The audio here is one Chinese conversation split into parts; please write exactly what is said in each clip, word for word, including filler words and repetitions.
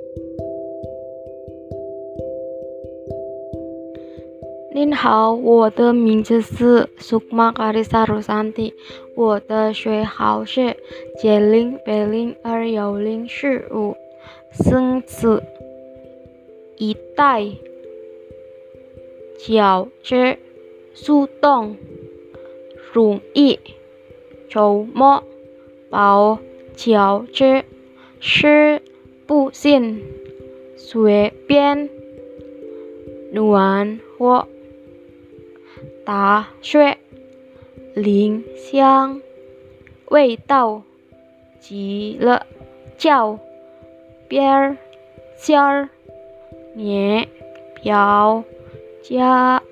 您好，我的名字是 Sukma Karisa Rosanti，我的学号是九零八零二幺零四五，生子一代饺子速冻容易周末包饺子吃不尽随便暖和打碎零香味道极了叫边尖儿年表家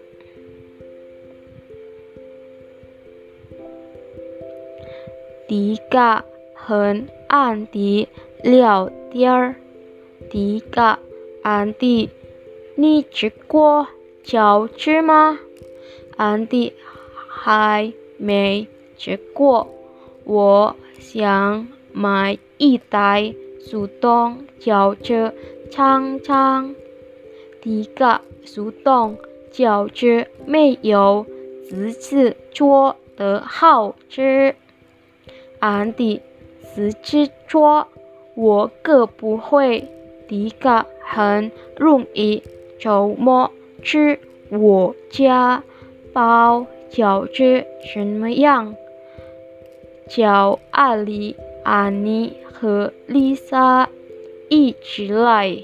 迪嘎很暗地聊天，迪嘎安迪，你吃过饺子吗？安迪还没吃过，我想买一袋速冻饺子尝尝。迪嘎速冻饺子没有自己做的好吃。安迪自己做，我可不会。迪嘎很容易周末去我家包饺子怎么样？叫阿里、安妮和丽莎一起来。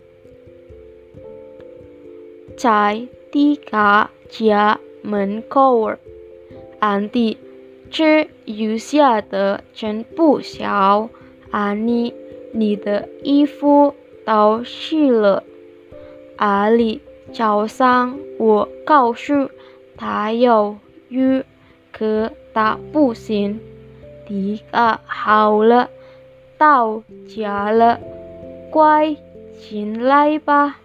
在迪嘎家门口，安迪只留下的真不少。安妮，你的衣服都湿了。阿里早上我告诉他有雨，可他不信。迪嘎好了，到家了，快进来吧。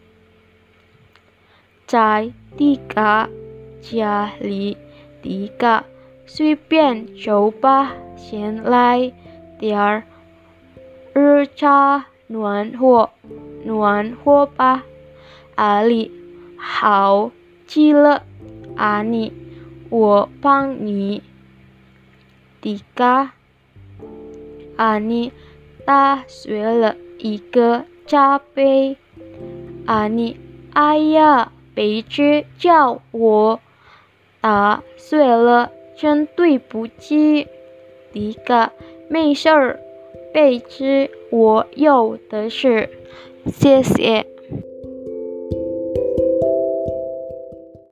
在迪嘎家里，迪嘎随便走吧，先来点儿热茶暖和暖和吧。阿里，好极了，安妮，我帮你。迪嘎，安妮打碎了一个茶杯。安妮，哎呀，别去叫我打碎了，真对不起。迪嘎，没事儿，杯子我有的是，谢谢。